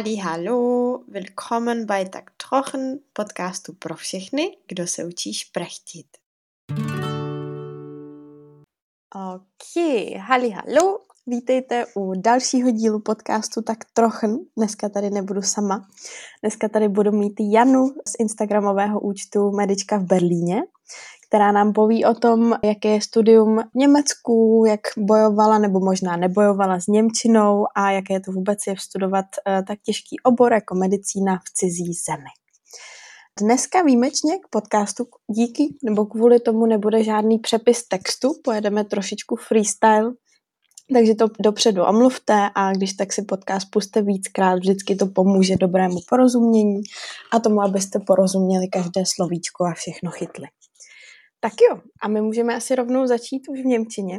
Hallo, willkommen bei Tak Trochen, podcastu pro všechny, kdo se učí šprechtit. Hallo, vítejte u dalšího dílu podcastu Tak Trochen. Dneska tady nebudu sama. Dneska tady budu mít Janu z instagramového účtu Medička v Berlíně, která nám poví o tom, jaké je studium v Německu, jak bojovala nebo možná nebojovala s němčinou a jaké to vůbec je studovat tak těžký obor jako medicína v cizí zemi. Dneska výjimečně k podcastu díky nebo kvůli tomu nebude žádný přepis textu, pojedeme trošičku freestyle, takže to dopředu omluvte a když tak si podcast puste víckrát, vždycky to pomůže dobrému porozumění a tomu, abyste porozuměli každé slovíčko a všechno chytli. Tak jo, a my můžeme asi rovnou začít už v němčině.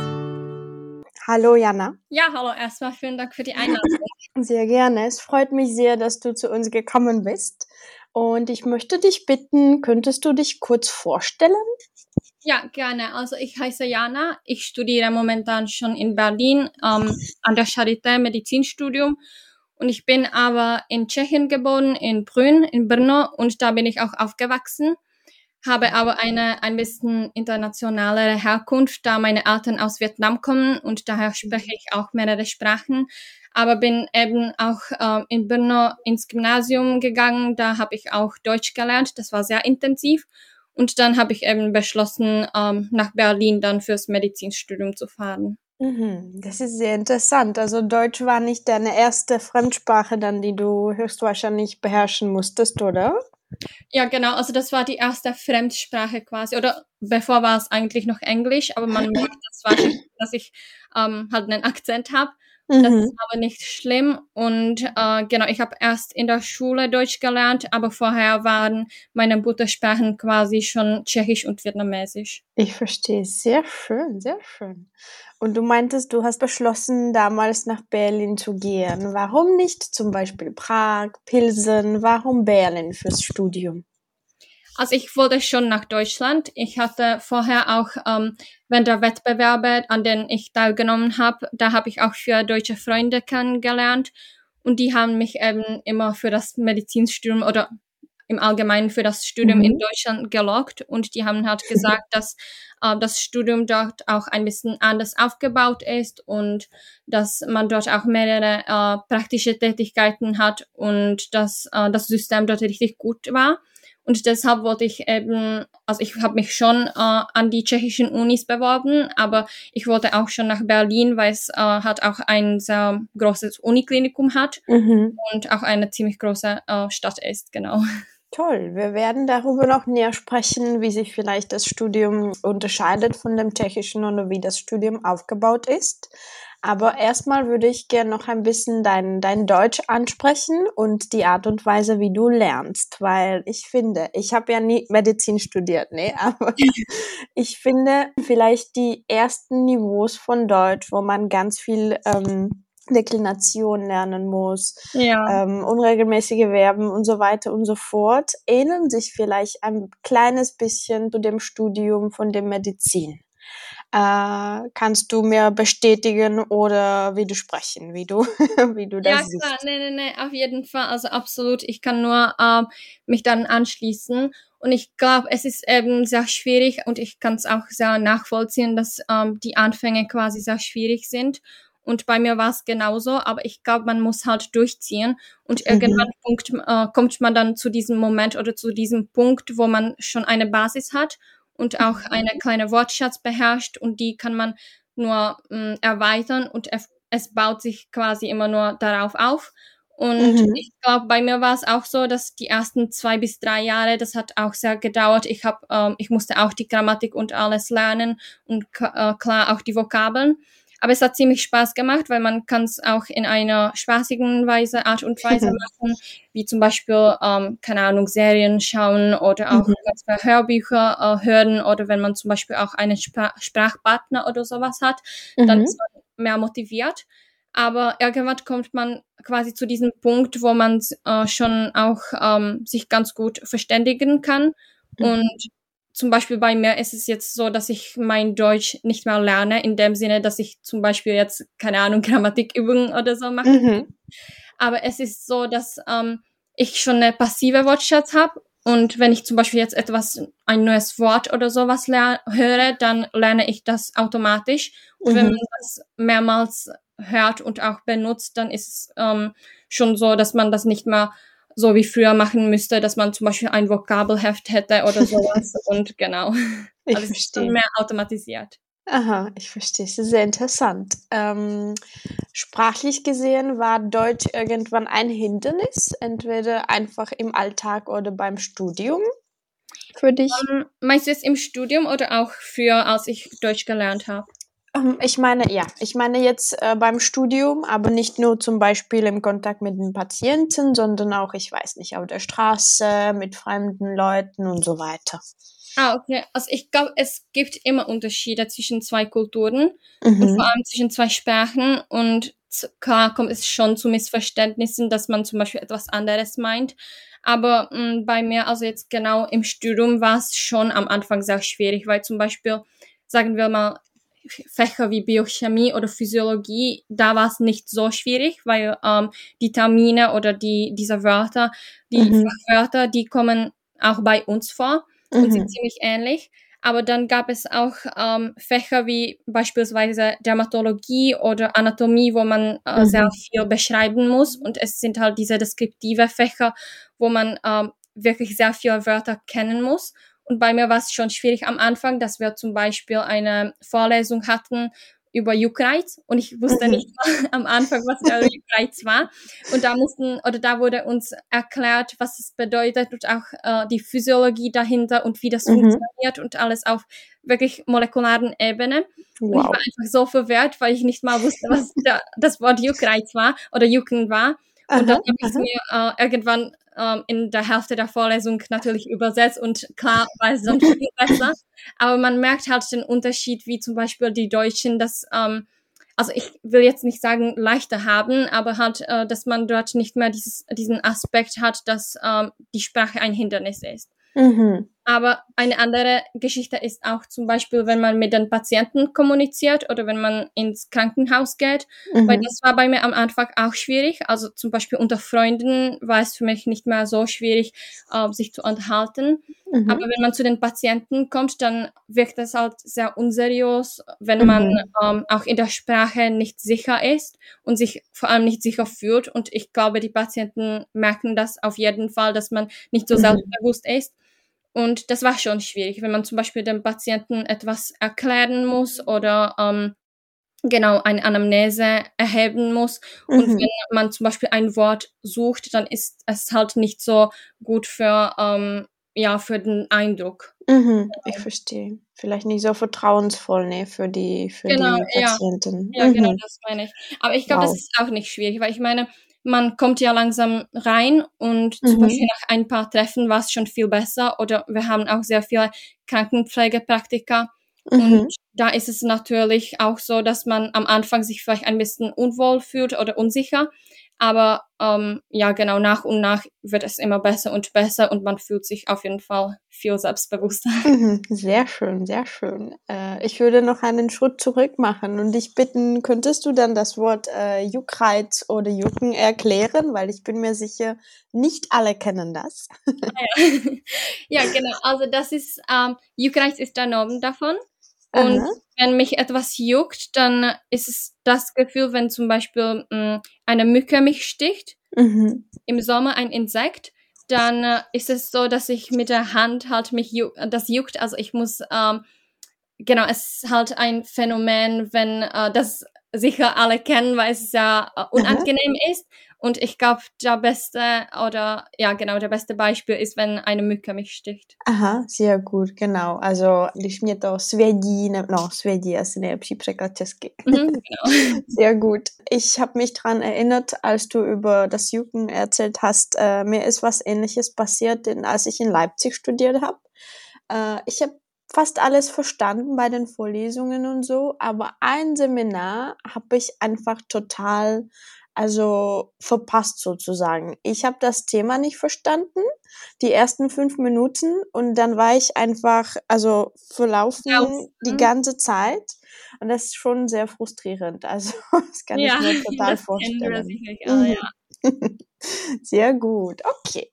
Hallo Jana. Ja, hallo, erstmal vielen Dank für die Einladung. Sehr gerne, es freut mich sehr, dass du zu uns gekommen bist. Und ich möchte dich bitten, könntest du dich kurz vorstellen? Ja, gerne. Also ich heiße Jana, ich studiere momentan schon in Berlin an der Charité Medizinstudium und ich bin aber in Tschechien geboren, in Brünn, in Brno und da bin ich auch aufgewachsen, habe aber eine ein bisschen internationalere Herkunft, da meine Eltern aus Vietnam kommen und daher spreche ich auch mehrere Sprachen, aber bin eben auch in Brno ins Gymnasium gegangen, da habe ich auch Deutsch gelernt, das war sehr intensiv. Und dann habe ich eben beschlossen, nach Berlin dann fürs Medizinstudium zu fahren. Das ist sehr interessant. Also Deutsch war nicht deine erste Fremdsprache dann, die du höchstwahrscheinlich beherrschen musstest, oder? Ja, genau. Also das war die erste Fremdsprache quasi. Oder bevor war es eigentlich noch Englisch, aber man merkt das wahrscheinlich, dass ich halt einen Akzent habe. Das ist aber nicht schlimm und genau, ich habe erst in der Schule Deutsch gelernt, aber vorher waren meine Muttersprachen quasi schon Tschechisch und Vietnamesisch. Ich verstehe, sehr schön, sehr schön. Und du meintest, du hast beschlossen, damals nach Berlin zu gehen. Warum nicht zum Beispiel Prag, Pilsen, warum Berlin fürs Studium? Also ich wollte schon nach Deutschland. Ich hatte vorher auch während der Wettbewerbe, an denen ich teilgenommen habe, da habe ich auch für deutsche Freunde kennengelernt und die haben mich eben immer für das Medizinstudium oder im Allgemeinen für das Studium in Deutschland gelockt und die haben halt gesagt, dass das Studium dort auch ein bisschen anders aufgebaut ist und dass man dort auch mehrere praktische Tätigkeiten hat und dass das System dort richtig gut war. Und deshalb wollte ich eben, also ich habe mich schon an die tschechischen Unis beworben, aber ich wollte auch schon nach Berlin, weil es halt auch ein sehr großes Uniklinikum hat und auch eine ziemlich große Stadt ist, genau. Toll, wir werden darüber noch näher sprechen, wie sich vielleicht das Studium unterscheidet von dem tschechischen oder wie das Studium aufgebaut ist. Aber erstmal würde ich gerne noch ein bisschen dein Deutsch ansprechen und die Art und Weise, wie du lernst, weil ich finde, ich habe ja nie Medizin studiert, ne, aber ich finde vielleicht die ersten Niveaus von Deutsch, wo man ganz viel Deklination lernen muss, Ja. unregelmäßige Verben und so weiter und so fort, ähneln sich vielleicht ein kleines bisschen zu dem Studium von der Medizin. Kannst du mir bestätigen oder widersprechen, wie du das siehst? Ja, klar, nee, auf jeden Fall, also absolut, ich kann nur mich dann anschließen und ich glaube, es ist eben sehr schwierig und ich kann es auch sehr nachvollziehen, dass die Anfänge quasi sehr schwierig sind und bei mir war es genauso, aber ich glaube, man muss halt durchziehen und irgendwann kommt man dann zu diesem Moment oder zu diesem Punkt, wo man schon eine Basis hat und auch eine kleine Wortschatz beherrscht und die kann man nur erweitern und es baut sich quasi immer nur darauf auf. Und ich glaube, bei mir war es auch so, dass die ersten 2 bis 3 Jahre, das hat auch sehr gedauert. Ich musste auch die Grammatik und alles lernen und klar auch die Vokabeln. Aber es hat ziemlich Spaß gemacht, weil man kann es auch in einer spaßigen Art und Weise machen, wie zum Beispiel, keine Ahnung, Serien schauen oder auch ganz viele Hörbücher hören oder wenn man zum Beispiel auch einen Sprachpartner oder sowas hat, dann ist man mehr motiviert. Aber irgendwann kommt man quasi zu diesem Punkt, wo man schon auch sich ganz gut verständigen kann. Und zum Beispiel bei mir ist es jetzt so, dass ich mein Deutsch nicht mehr lerne, in dem Sinne, dass ich zum Beispiel jetzt, keine Ahnung, Grammatikübungen oder so mache. aber es ist so, dass ich schon eine passive Wortschatz habe. Und wenn ich zum Beispiel jetzt ein neues Wort oder sowas höre, dann lerne ich das automatisch. Und wenn man das mehrmals hört und auch benutzt, dann ist es schon so, dass man das nicht mehr so wie früher machen müsste, dass man zum Beispiel ein Vokabelheft hätte oder sowas. Und genau, Ich also es ist schon verstehe. mehr automatisiert. Aha, ich verstehe. Es ist sehr interessant. Sprachlich gesehen war Deutsch irgendwann ein Hindernis, entweder einfach im Alltag oder beim Studium für dich? Meinst du jetzt im Studium oder auch früher, als ich Deutsch gelernt habe? Ich meine, ja, ich meine jetzt beim Studium, aber nicht nur zum Beispiel im Kontakt mit den Patienten, sondern auch, ich weiß nicht, auf der Straße, mit fremden Leuten und so weiter. Ah, okay. Also ich glaube, es gibt immer Unterschiede zwischen zwei Kulturen und vor Mhm. allem zwischen zwei Sprachen und klar kommt es schon zu Missverständnissen, dass man zum Beispiel etwas anderes meint. Aber bei mir, also jetzt genau im Studium, war es schon am Anfang sehr schwierig, weil zum Beispiel, sagen wir mal, Fächer wie Biochemie oder Physiologie, da war es nicht so schwierig, weil die Termine oder diese Wörter, die Mhm. Fachwörter, die kommen auch bei uns vor und sind Mhm. ziemlich ähnlich. Aber dann gab es auch Fächer wie beispielsweise Dermatologie oder Anatomie, wo man sehr Mhm. viel beschreiben muss. Und es sind halt diese deskriptive Fächer, wo man wirklich sehr viele Wörter kennen muss. Und bei mir war es schon schwierig am Anfang, dass wir zum Beispiel eine Vorlesung hatten über Juckreiz und ich wusste Mhm. nicht mal am Anfang, was der Juckreiz war. Und da wurde uns erklärt, was es bedeutet und auch die Physiologie dahinter und wie das Mhm. funktioniert und alles auf wirklich molekularen Ebene. Und ich war Wow. einfach so verwirrt, weil ich nicht mal wusste, was das Wort Juckreiz war oder Jucken war. Und dann Aha, habe ich es aha. mir irgendwann in der Hälfte der Vorlesung natürlich übersetzt und klar war es dann viel besser. Aber man merkt halt den Unterschied, wie zum Beispiel die Deutschen das, also ich will jetzt nicht sagen leichter haben, aber halt, dass man dort nicht mehr diesen Aspekt hat, dass die Sprache ein Hindernis ist. Mhm. Aber eine andere Geschichte ist auch zum Beispiel, wenn man mit den Patienten kommuniziert oder wenn man ins Krankenhaus geht, weil Mhm. das war bei mir am Anfang auch schwierig. Also zum Beispiel unter Freunden war es für mich nicht mehr so schwierig, sich zu unterhalten. Aber Mhm. wenn man zu den Patienten kommt, dann wirkt das halt sehr unseriös, wenn man Mhm. auch in der Sprache nicht sicher ist und sich vor allem nicht sicher fühlt. Und ich glaube, die Patienten merken das auf jeden Fall, dass man nicht so Mhm. selbstbewusst ist. Und das war schon schwierig, wenn man zum Beispiel dem Patienten etwas erklären muss oder genau eine Anamnese erheben muss. Und Mhm. wenn man zum Beispiel ein Wort sucht, dann ist es halt nicht so gut ja, für den Eindruck. Mhm. Ich verstehe. Vielleicht nicht so vertrauensvoll, ne, für Genau, die ja. Patienten. Ja, genau, Mhm. das meine ich. Aber ich glaube, das Wow. ist auch nicht schwierig, weil ich meine, man kommt ja langsam rein und zum Mhm. Beispiel nach ein paar Treffen war es schon viel besser oder wir haben auch sehr viele Krankenpflegepraktika und Mhm. da ist es natürlich auch so, dass man am Anfang sich vielleicht ein bisschen unwohl fühlt oder unsicher, aber ja, genau, nach und nach wird es immer besser und man fühlt sich auf jeden Fall viel selbstbewusster. Mhm. Sehr schön, sehr schön. Ich würde noch einen Schritt zurück machen und dich bitten, könntest du dann das Wort, Juckreiz oder Jucken erklären? Weil ich bin mir sicher, nicht alle kennen das. Ja. Ja, genau. Also das ist, Juckreiz ist der Name davon. Und Aha. wenn mich etwas juckt, dann ist es das Gefühl, wenn zum Beispiel eine Mücke mich sticht, Mhm. im Sommer ein Insekt, dann ist es so, dass ich mit der Hand halt das juckt. Also ich muss genau, es ist halt ein Phänomen, wenn das sicher alle kennen, weil es sehr Aha. unangenehm ist. Und ich glaube, der beste Beispiel ist, wenn eine Mücke mich sticht. Aha, sehr gut, genau. Also, když mě to svědí, no, svědí je asi nejlepší překlad česky. Mhm, genau. Sehr gut. Ich habe mich dran erinnert, als du über das Jucken erzählt hast, mir ist was Ähnliches passiert, als ich in Leipzig studiert habe. Ich habe fast alles verstanden bei den Vorlesungen und so, aber ein Seminar habe ich einfach total, also verpasst sozusagen. Ich habe das Thema nicht verstanden, die ersten 5 Minuten und dann war ich einfach, also Raus. verlaufen die Mhm. ganze Zeit und das ist schon sehr frustrierend. Also, das kann ich Ja, mir total das kennen wir vorstellen. sicherlich alle, Mhm. ja. Sehr gut, okay.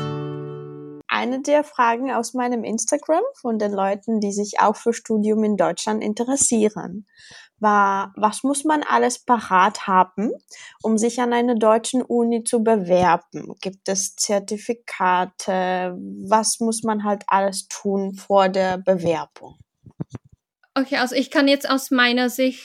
Eine der Fragen aus meinem Instagram von den Leuten, die sich auch für Studium in Deutschland interessieren, war, was muss man alles parat haben, um sich an eine deutsche Uni zu bewerben? Gibt es Zertifikate? Was muss man halt alles tun vor der Bewerbung? Okay, also ich kann jetzt aus meiner Sicht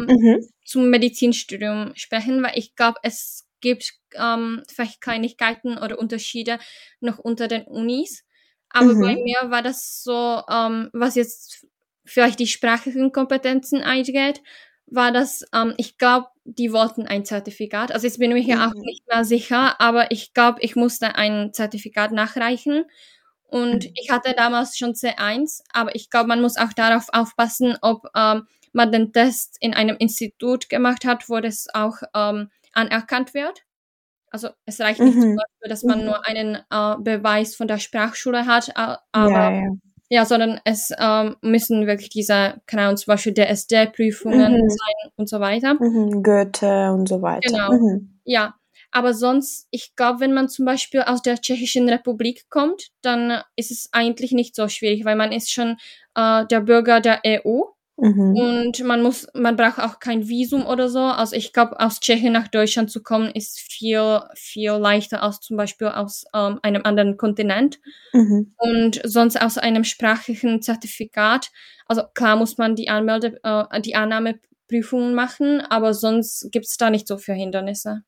zum Medizinstudium sprechen, weil ich glaube, es gibt vielleicht Kleinigkeiten oder Unterschiede noch unter den Unis. Aber bei mir war das so, was jetzt vielleicht die sprachlichen Kompetenzen eingeht, war das, ich glaube, die wollten ein Zertifikat. Also jetzt bin ich mir auch nicht mehr sicher, aber ich glaube, ich musste ein Zertifikat nachreichen. Und ich hatte damals schon C1, aber ich glaube, man muss auch darauf aufpassen, ob man den Test in einem Institut gemacht hat, wo das auch anerkannt wird. Also es reicht nicht zum Beispiel, dass man nur einen Beweis von der Sprachschule hat, aber ja, sondern es müssen wirklich diese, keine Ahnung, zum Beispiel DSD-Prüfungen sein und so weiter. Goethe und so weiter. Genau, ja. Aber sonst, ich glaube, wenn man zum Beispiel aus der Tschechischen Republik kommt, dann ist es eigentlich nicht so schwierig, weil man ist schon der Bürger der EU und man braucht auch kein Visum oder so. Also ich glaube, aus Tschechien nach Deutschland zu kommen, ist viel, viel leichter als zum Beispiel aus einem anderen Kontinent. Und sonst aus einem sprachlichen Zertifikat. Also klar muss man die Annahmeprüfungen machen, aber sonst gibt's da nicht so viele Hindernisse.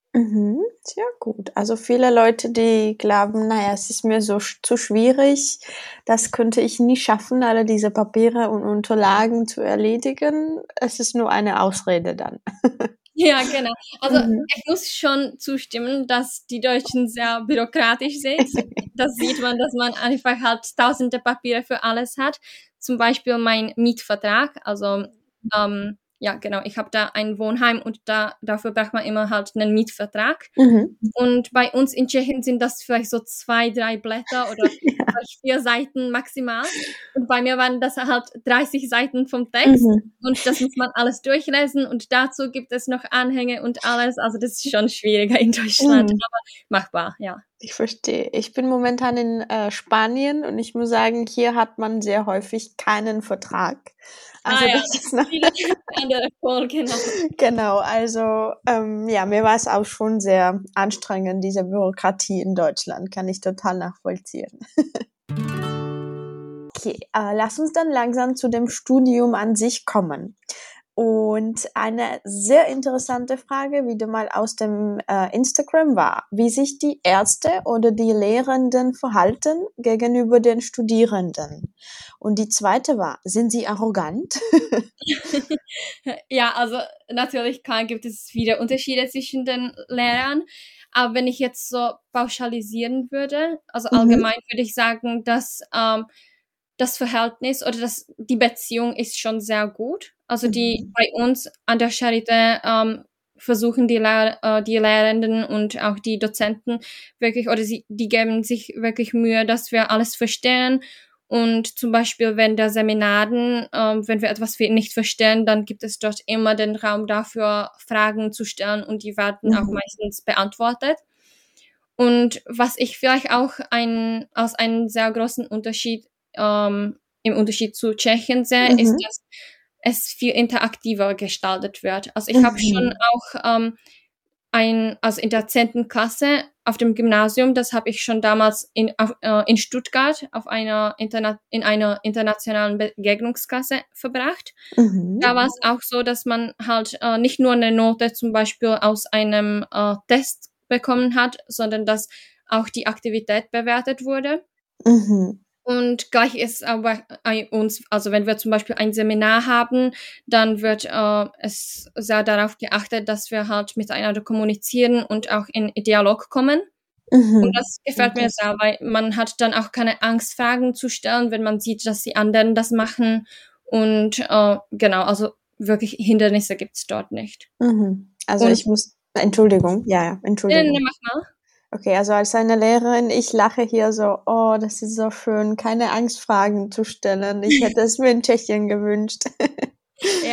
Sehr gut. Also viele Leute, die glauben, naja, es ist mir so zu schwierig, das könnte ich nie schaffen, alle diese Papiere und Unterlagen zu erledigen. Es ist nur eine Ausrede dann. Ja, genau. Also ich muss schon zustimmen, dass die Deutschen sehr bürokratisch sind. Das sieht man, dass man einfach halt tausende Papiere für alles hat. Zum Beispiel mein Mietvertrag. Also ja, genau. Ich habe da ein Wohnheim und dafür braucht man immer halt einen Mietvertrag. Und bei uns in Tschechien sind das vielleicht so 2, 3 Blätter oder 4 Seiten maximal. Und bei mir waren das halt 30 Seiten vom Text. Und das muss man alles durchlesen. Und dazu gibt es noch Anhänge und alles. Also das ist schon schwieriger in Deutschland, aber machbar, ja. Ich verstehe. Ich bin momentan in Spanien und ich muss sagen, hier hat man sehr häufig keinen Vertrag. Also ja, das ist noch viele andere Folgen. Genau, also ja, mir war es auch schon sehr anstrengend, diese Bürokratie in Deutschland, kann ich total nachvollziehen. Okay, lass uns dann langsam zu dem Studium an sich kommen. Und eine sehr interessante Frage wieder mal aus dem Instagram war, wie sich die Ärzte oder die Lehrenden verhalten gegenüber den Studierenden. Und die zweite war, sind sie arrogant? Ja, also natürlich gibt es viele Unterschiede zwischen den Lehrern. Aber wenn ich jetzt so pauschalisieren würde, also allgemein würde ich sagen, dass das Verhältnis oder die Beziehung ist schon sehr gut. Also bei uns an der Charité versuchen die Lehrenden und auch die Dozenten wirklich, oder die geben sich wirklich Mühe, dass wir alles verstehen. Und zum Beispiel während der Seminaren, wenn wir etwas nicht verstehen, dann gibt es dort immer den Raum dafür, Fragen zu stellen und die werden auch meistens beantwortet. Und was ich vielleicht auch als einen sehr großen Unterschied im Unterschied zu Tschechien sehe, ist, dass es viel interaktiver gestaltet wird. Also ich habe schon auch also in der 10. Klasse auf dem Gymnasium, das habe ich schon damals in Stuttgart in einer internationalen Begegnungsklasse verbracht. Da war es auch so, dass man halt nicht nur eine Note zum Beispiel aus einem Test bekommen hat, sondern dass auch die Aktivität bewertet wurde. Und gleich ist aber bei uns, also wenn wir zum Beispiel ein Seminar haben, dann wird es sehr darauf geachtet, dass wir halt miteinander kommunizieren und auch in Dialog kommen. Und das gefällt mir sehr, weil man hat dann auch keine Angst, Fragen zu stellen, wenn man sieht, dass die anderen das machen. Und genau, also wirklich Hindernisse gibt's dort nicht. Also ich muss, Entschuldigung, Entschuldigung. Nee, mach mal. Okay, also als eine Lehrerin, ich lache hier so, oh, das ist so schön, keine Angst, Fragen zu stellen. Ich hätte es mir in Tschechien gewünscht. Ja,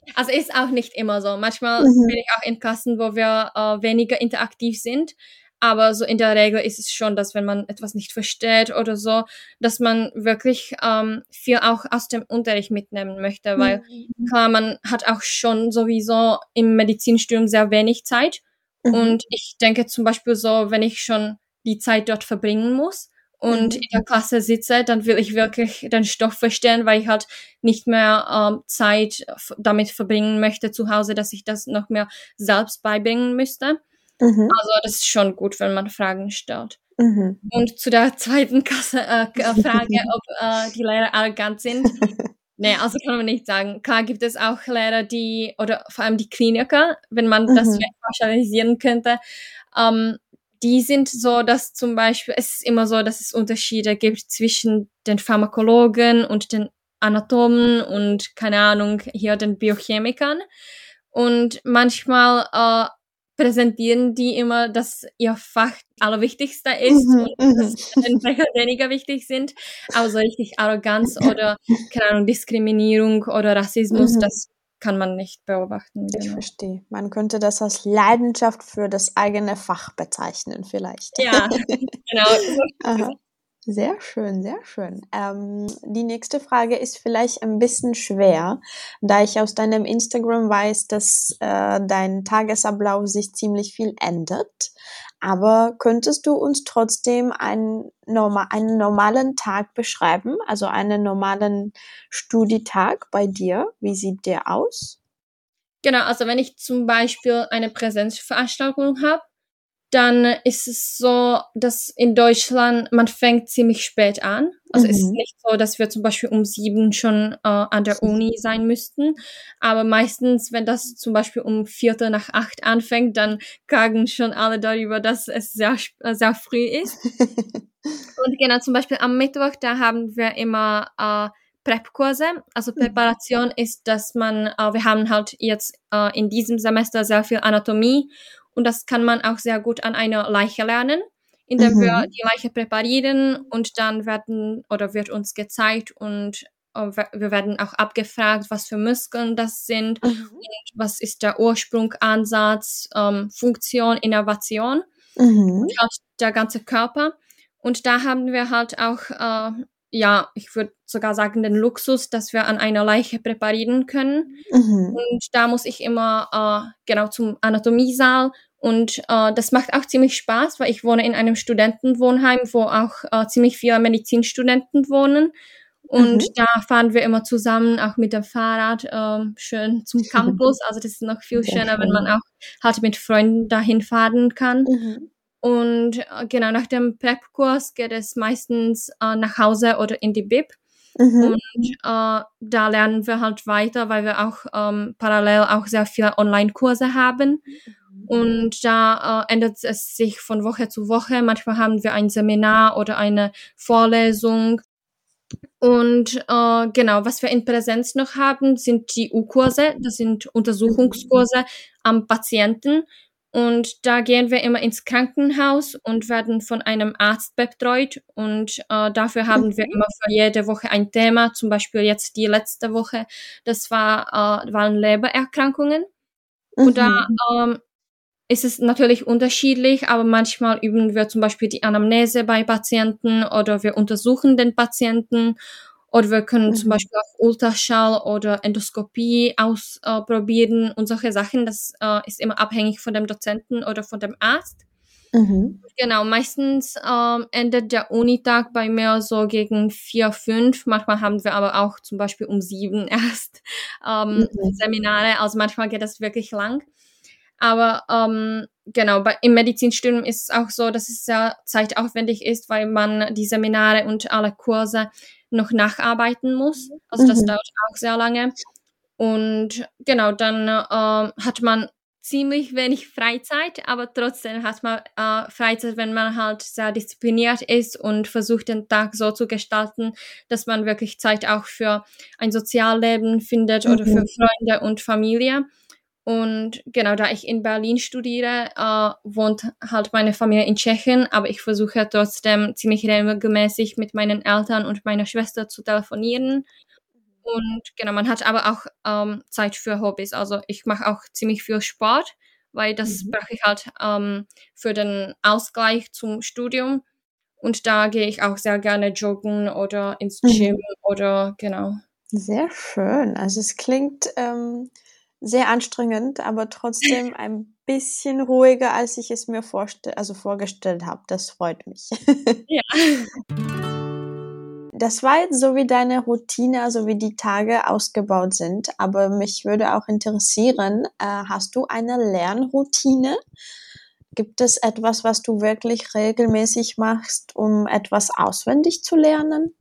Also ist auch nicht immer so. Manchmal bin ich auch in Klassen, wo wir weniger interaktiv sind. Aber so in der Regel ist es schon, dass wenn man etwas nicht versteht oder so, dass man wirklich viel auch aus dem Unterricht mitnehmen möchte. Weil klar, man hat auch schon sowieso im Medizinstudium sehr wenig Zeit. Und ich denke zum Beispiel so, wenn ich schon die Zeit dort verbringen muss und in der Klasse sitze, dann will ich wirklich den Stoff verstehen, weil ich halt nicht mehr Zeit damit verbringen möchte zu Hause, dass ich das noch mehr selbst beibringen müsste. Also das ist schon gut, wenn man Fragen stellt. Und zu der zweiten Frage, ob die Lehrer arrogant sind. Nee, also kann man nicht sagen. Klar gibt es auch Lehrer, oder vor allem die Kliniker, wenn man das pauschalisieren könnte, die sind so, dass zum Beispiel, es ist immer so, dass es Unterschiede gibt zwischen den Pharmakologen und den Anatomen und, keine Ahnung, hier den Biochemikern. Und manchmal präsentieren die immer, dass ihr Fach allerwichtigste ist und dass den Fächer weniger wichtig sind. Aber so richtig Arroganz oder, keine Ahnung, Diskriminierung oder Rassismus, das kann man nicht beobachten. Ich verstehe. Man könnte das als Leidenschaft für das eigene Fach bezeichnen vielleicht. Ja, genau. Aha. Sehr schön, sehr schön. Die nächste Frage ist vielleicht ein bisschen schwer, da ich aus deinem Instagram weiß, dass dein Tagesablauf sich ziemlich viel ändert. Aber könntest du uns trotzdem einen normalen Tag beschreiben, also einen normalen Studietag bei dir? Wie sieht der aus? Genau, also wenn ich zum Beispiel eine Präsenzveranstaltung habe, dann ist es so, dass in Deutschland man fängt ziemlich spät an. Also es ist nicht so, dass wir zum Beispiel um 7 schon an der Uni sein müssten. Aber meistens, wenn das zum Beispiel um 7:45 anfängt, dann klagen schon alle darüber, dass es sehr, sehr früh ist. Und genau, zum Beispiel am Mittwoch, da haben wir immer Prep-Kurse. Also Präparation ist, dass wir haben halt jetzt in diesem Semester sehr viel Anatomie. Und das kann man auch sehr gut an einer Leiche lernen, indem wir die Leiche präparieren und dann wird uns gezeigt und wir werden auch abgefragt, was für Muskeln das sind und was ist der Ursprung, Ansatz, Funktion, Innovation und halt der ganze Körper. Und da haben wir halt auch, ich würde sogar sagen, den Luxus, dass wir an einer Leiche präparieren können. Und da muss ich immer genau zum Anatomiesaal und das macht auch ziemlich Spaß, weil ich wohne in einem Studentenwohnheim, wo auch ziemlich viele Medizinstudenten wohnen. Und da fahren wir immer zusammen, auch mit dem Fahrrad, schön zum Campus. Also das ist noch viel schöner, wenn man auch halt mit Freunden dahin fahren kann. Und genau, nach dem Prep-Kurs geht es meistens nach Hause oder in die Bib. Und da lernen wir halt weiter, weil wir auch parallel auch sehr viele Online-Kurse haben. Und da ändert es sich von Woche zu Woche. Manchmal haben wir ein Seminar oder eine Vorlesung. Und genau, was wir in Präsenz noch haben, sind die U-Kurse. Das sind Untersuchungskurse am Patienten. Und da gehen wir immer ins Krankenhaus und werden von einem Arzt betreut. Und dafür haben wir immer für jede Woche ein Thema. Zum Beispiel jetzt die letzte Woche, das waren Lebererkrankungen. Und da ist es natürlich unterschiedlich, aber manchmal üben wir zum Beispiel die Anamnese bei Patienten oder wir untersuchen den Patienten oder wir können zum Beispiel auch Ultraschall oder Endoskopie ausprobieren und solche Sachen. Das ist immer abhängig von dem Dozenten oder von dem Arzt. Genau, meistens endet der Unitag bei mir so gegen 4, 5. Manchmal haben wir aber auch zum Beispiel um 7 erst Seminare. Also manchmal geht das wirklich lang. Aber genau, im Medizinstudium ist es auch so, dass es sehr zeitaufwendig ist, weil man die Seminare und alle Kurse noch nacharbeiten muss. Also das dauert auch sehr lange. Und genau, dann hat man ziemlich wenig Freizeit, aber trotzdem hat man Freizeit, wenn man halt sehr diszipliniert ist und versucht, den Tag so zu gestalten, dass man wirklich Zeit auch für ein Sozialleben findet oder für Freunde und Familie. Und genau, da ich in Berlin studiere, wohnt halt meine Familie in Tschechien, aber ich versuche trotzdem ziemlich regelmäßig mit meinen Eltern und meiner Schwester zu telefonieren. Und genau, man hat aber auch Zeit für Hobbys. Also ich mache auch ziemlich viel Sport, weil das brauche ich halt für den Ausgleich zum Studium. Und da gehe ich auch sehr gerne joggen oder ins Gym oder genau. Sehr schön. Also es klingt sehr anstrengend, aber trotzdem ein bisschen ruhiger, als ich es mir vorgestellt habe. Das freut mich. Ja. Das war jetzt so, wie deine Routine, also wie die Tage ausgebaut sind. Aber mich würde auch interessieren, hast du eine Lernroutine? Gibt es etwas, was du wirklich regelmäßig machst, um etwas auswendig zu lernen?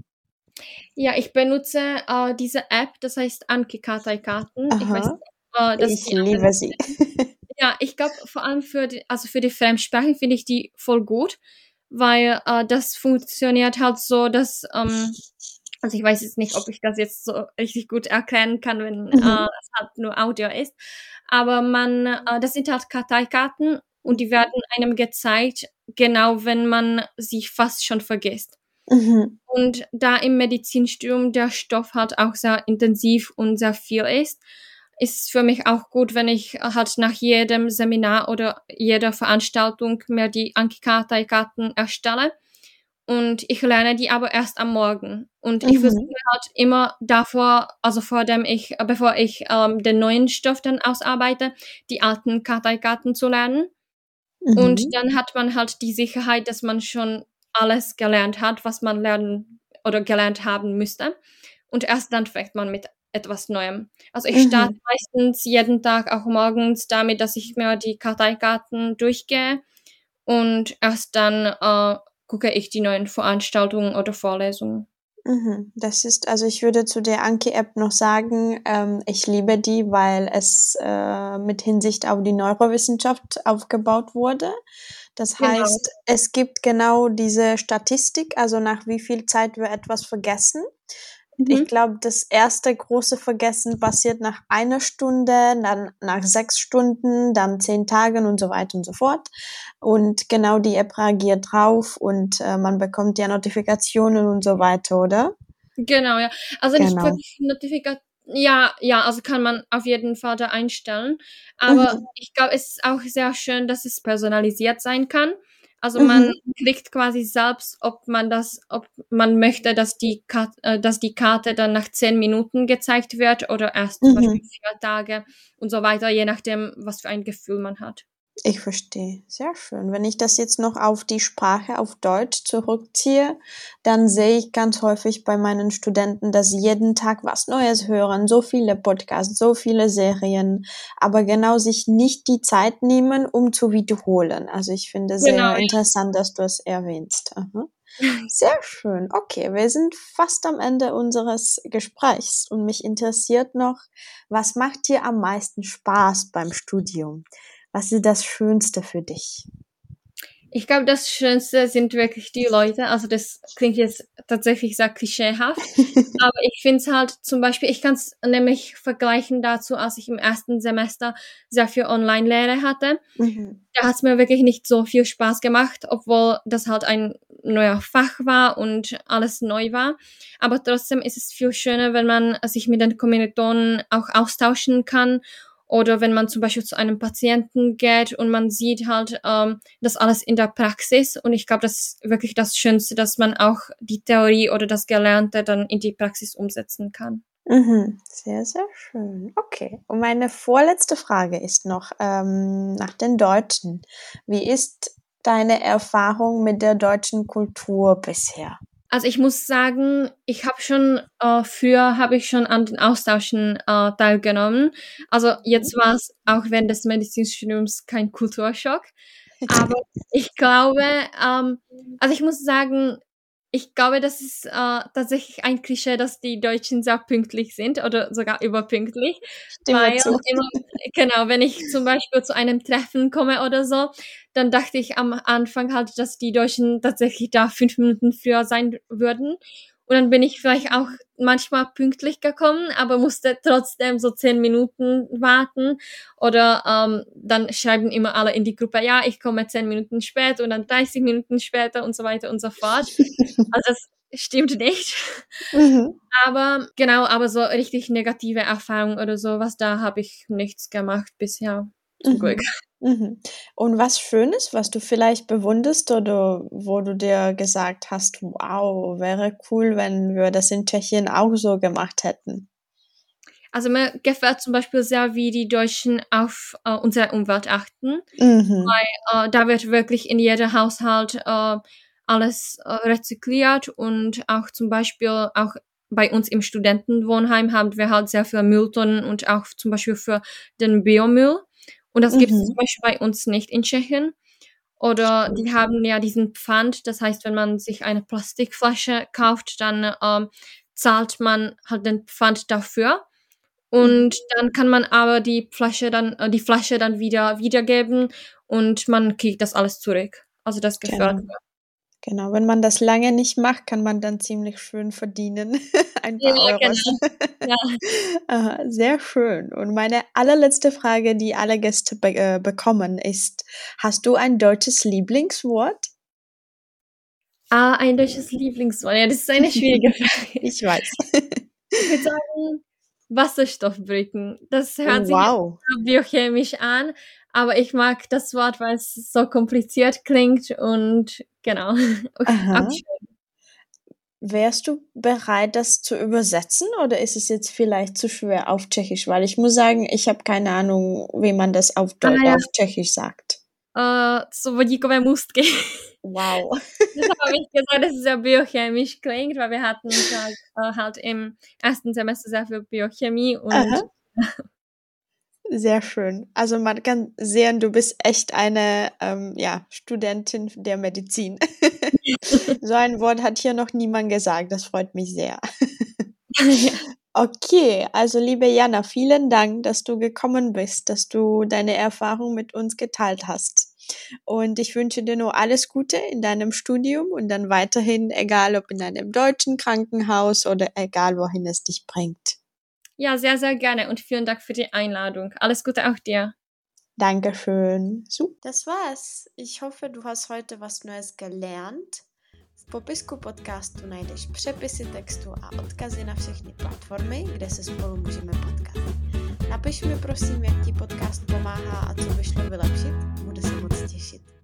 Ja, ich benutze diese App, das heißt Anki Karten. Ich weiß Aha, nicht, ob das ich die anderen liebe sie. kennen. Ja, ich glaube, vor allem für die Fremdsprachen finde ich die voll gut, weil das funktioniert halt so, dass, also ich weiß jetzt nicht, ob ich das jetzt so richtig gut erklären kann, wenn Mhm. es halt nur Audio ist, aber das sind halt Karteikarten und die werden einem gezeigt, genau wenn man sie fast schon vergisst. Mhm. Und da im Medizinstudium der Stoff halt auch sehr intensiv und sehr viel ist es für mich auch gut, wenn ich halt nach jedem Seminar oder jeder Veranstaltung mir die Anki-Karteikarten erstelle. Und ich lerne die aber erst am Morgen. Und ich versuche Mhm. halt immer davor, also bevor ich den neuen Stoff dann ausarbeite, die alten Karteikarten zu lernen. Und Mhm. dann hat man halt die Sicherheit, dass man schon alles gelernt hat, was man lernen oder gelernt haben müsste. Und erst dann fängt man mit etwas Neuem. Also ich starte Mhm. meistens jeden Tag auch morgens damit, dass ich mir die Karteikarten durchgehe und erst dann gucke ich die neuen Veranstaltungen oder Vorlesungen. Mhm. Das ist, also ich würde zu der Anki-App noch sagen, ich liebe die, weil es mit Hinsicht auf die Neurowissenschaft aufgebaut wurde. Das Genau, heißt, es gibt genau diese Statistik, also nach wie viel Zeit wir etwas vergessen. Ich mhm. glaube, das erste große Vergessen passiert nach 1 Stunde, dann nach 6 Stunden, dann 10 Tagen und so weiter und so fort. Und genau die App reagiert drauf und man bekommt ja Notifikationen und so weiter, oder? Genau, ja. Also nicht Genau. wirklich Notifikat ja, ja, also kann man auf jeden Fall da einstellen. Aber Mhm. ich glaube, es ist auch sehr schön, dass es personalisiert sein kann. Also man Mhm. klickt quasi selbst, ob man möchte, dass die Karte dann nach 10 Minuten gezeigt wird oder erst zum Beispiel Mhm. 4 Tage und so weiter, je nachdem, was für ein Gefühl man hat. Ich verstehe. Sehr schön. Wenn ich das jetzt noch auf die Sprache auf Deutsch zurückziehe, dann sehe ich ganz häufig bei meinen Studenten, dass sie jeden Tag was Neues hören, so viele Podcasts, so viele Serien, aber genau sich nicht die Zeit nehmen, um zu wiederholen. Also ich finde Genau, sehr interessant, dass du es erwähnst. Aha. Sehr schön. Okay, wir sind fast am Ende unseres Gesprächs und mich interessiert noch, was macht dir am meisten Spaß beim Studium? Was ist das Schönste für dich? ich glaube, das Schönste sind wirklich die Leute. Also das klingt jetzt tatsächlich sehr klischeehaft, aber ich finde es halt zum Beispiel, ich kann es nämlich vergleichen dazu, als ich im ersten Semester sehr viel Online-Lehre hatte. Mhm. Da hat es mir wirklich nicht so viel Spaß gemacht, obwohl das halt ein neuer Fach war und alles neu war. Aber trotzdem ist es viel schöner, wenn man sich mit den Kommilitonen auch austauschen kann oder wenn man zum Beispiel zu einem Patienten geht und man sieht halt das alles in der Praxis. Und ich glaube, das ist wirklich das Schönste, dass man auch die Theorie oder das Gelernte dann in die Praxis umsetzen kann. Mhm. Sehr, sehr schön. Okay. Und meine vorletzte Frage ist noch nach den Deutschen. Wie ist deine Erfahrung mit der deutschen Kultur bisher? Also ich muss sagen, früher habe ich schon an den Austauschen teilgenommen. Also Mhm. jetzt war es auch während des Medizinstudiums kein Kulturschock. Aber ich glaube, also ich muss sagen, ich glaube, das ist tatsächlich ein Klischee, dass die Deutschen sehr pünktlich sind oder sogar überpünktlich, Stimme weil zu. immer, genau, wenn ich zum Beispiel zu einem Treffen komme oder so, dann dachte ich am Anfang halt, dass die Deutschen tatsächlich da 5 Minuten früher sein würden. Und dann bin ich vielleicht auch manchmal pünktlich gekommen, aber musste trotzdem so 10 Minuten warten. Oder dann schreiben immer alle in die Gruppe, ja, ich komme 10 Minuten später und dann 30 Minuten später und so weiter und so fort. Also das stimmt nicht. Mhm. Aber so richtig negative Erfahrungen oder sowas, da habe ich nichts gemacht bisher, zum Glück. Mhm. Und was Schönes, was du vielleicht bewunderst oder wo du dir gesagt hast, wow, wäre cool, wenn wir das in Tschechien auch so gemacht hätten? Also mir gefällt zum Beispiel sehr, wie die Deutschen auf unsere Umwelt achten. Mhm. Da wird wirklich in jedem Haushalt alles rezykliert und auch zum Beispiel auch bei uns im Studentenwohnheim haben wir halt sehr viele Mülltonnen und auch zum Beispiel für den Biomüll. Und das gibt es zum Mhm. Beispiel bei uns nicht in Tschechien. Oder die Stimmt. haben ja diesen Pfand, das heißt, wenn man sich eine Plastikflasche kauft, dann zahlt man halt den Pfand dafür. Mhm. Und dann kann man aber die Flasche dann wieder wiedergeben und man kriegt das alles zurück. Also das gefällt Genau. mir. Genau, wenn man das lange nicht macht, kann man dann ziemlich schön verdienen. Ein Ja, paar Euros. genau. Ja. Aha, sehr schön. Und meine allerletzte Frage, die alle Gäste bekommen, ist: Hast du ein deutsches Lieblingswort? Ein deutsches Lieblingswort. Ja, das ist eine schwierige Frage. Ich weiß. Ich würde sagen, Wasserstoffbrücken. Das hört Oh, sich jetzt wow. so biochemisch an, aber ich mag das Wort, weil es so kompliziert klingt und genau. Okay, auch Aha. schön. Wärst du bereit, das zu übersetzen oder ist es jetzt vielleicht zu schwer auf Tschechisch? Weil ich muss sagen, ich habe keine Ahnung, wie man das Ja, auf Tschechisch sagt. so vodíkové můstky. Wow. Das habe ich gesagt, dass es sehr biochemisch klingt, weil wir hatten halt im ersten Semester sehr viel Biochemie und Aha. Sehr schön. Also man kann sehen, du bist echt eine ja, Studentin der Medizin. So ein Wort hat hier noch niemand gesagt. Das freut mich sehr. ja. Okay, also liebe Jana, vielen Dank, dass du gekommen bist, dass du deine Erfahrung mit uns geteilt hast. Und ich wünsche dir nur alles Gute in deinem Studium und dann weiterhin, egal ob in einem deutschen Krankenhaus oder egal wohin es dich bringt. Ja, sehr, sehr gerne und vielen Dank für die Einladung. Alles Gute auch dir. Dankeschön. So, das war's. Ich hoffe, du hast heute was Neues gelernt. V popisku podcastu najdeš přepisy textu a odkazy na všechny platformy, kde se spolu můžeme potkat. Napiš mi prosím, jak ti podcast pomáhá a co by šlo vylepšit. Budu se moc těšit.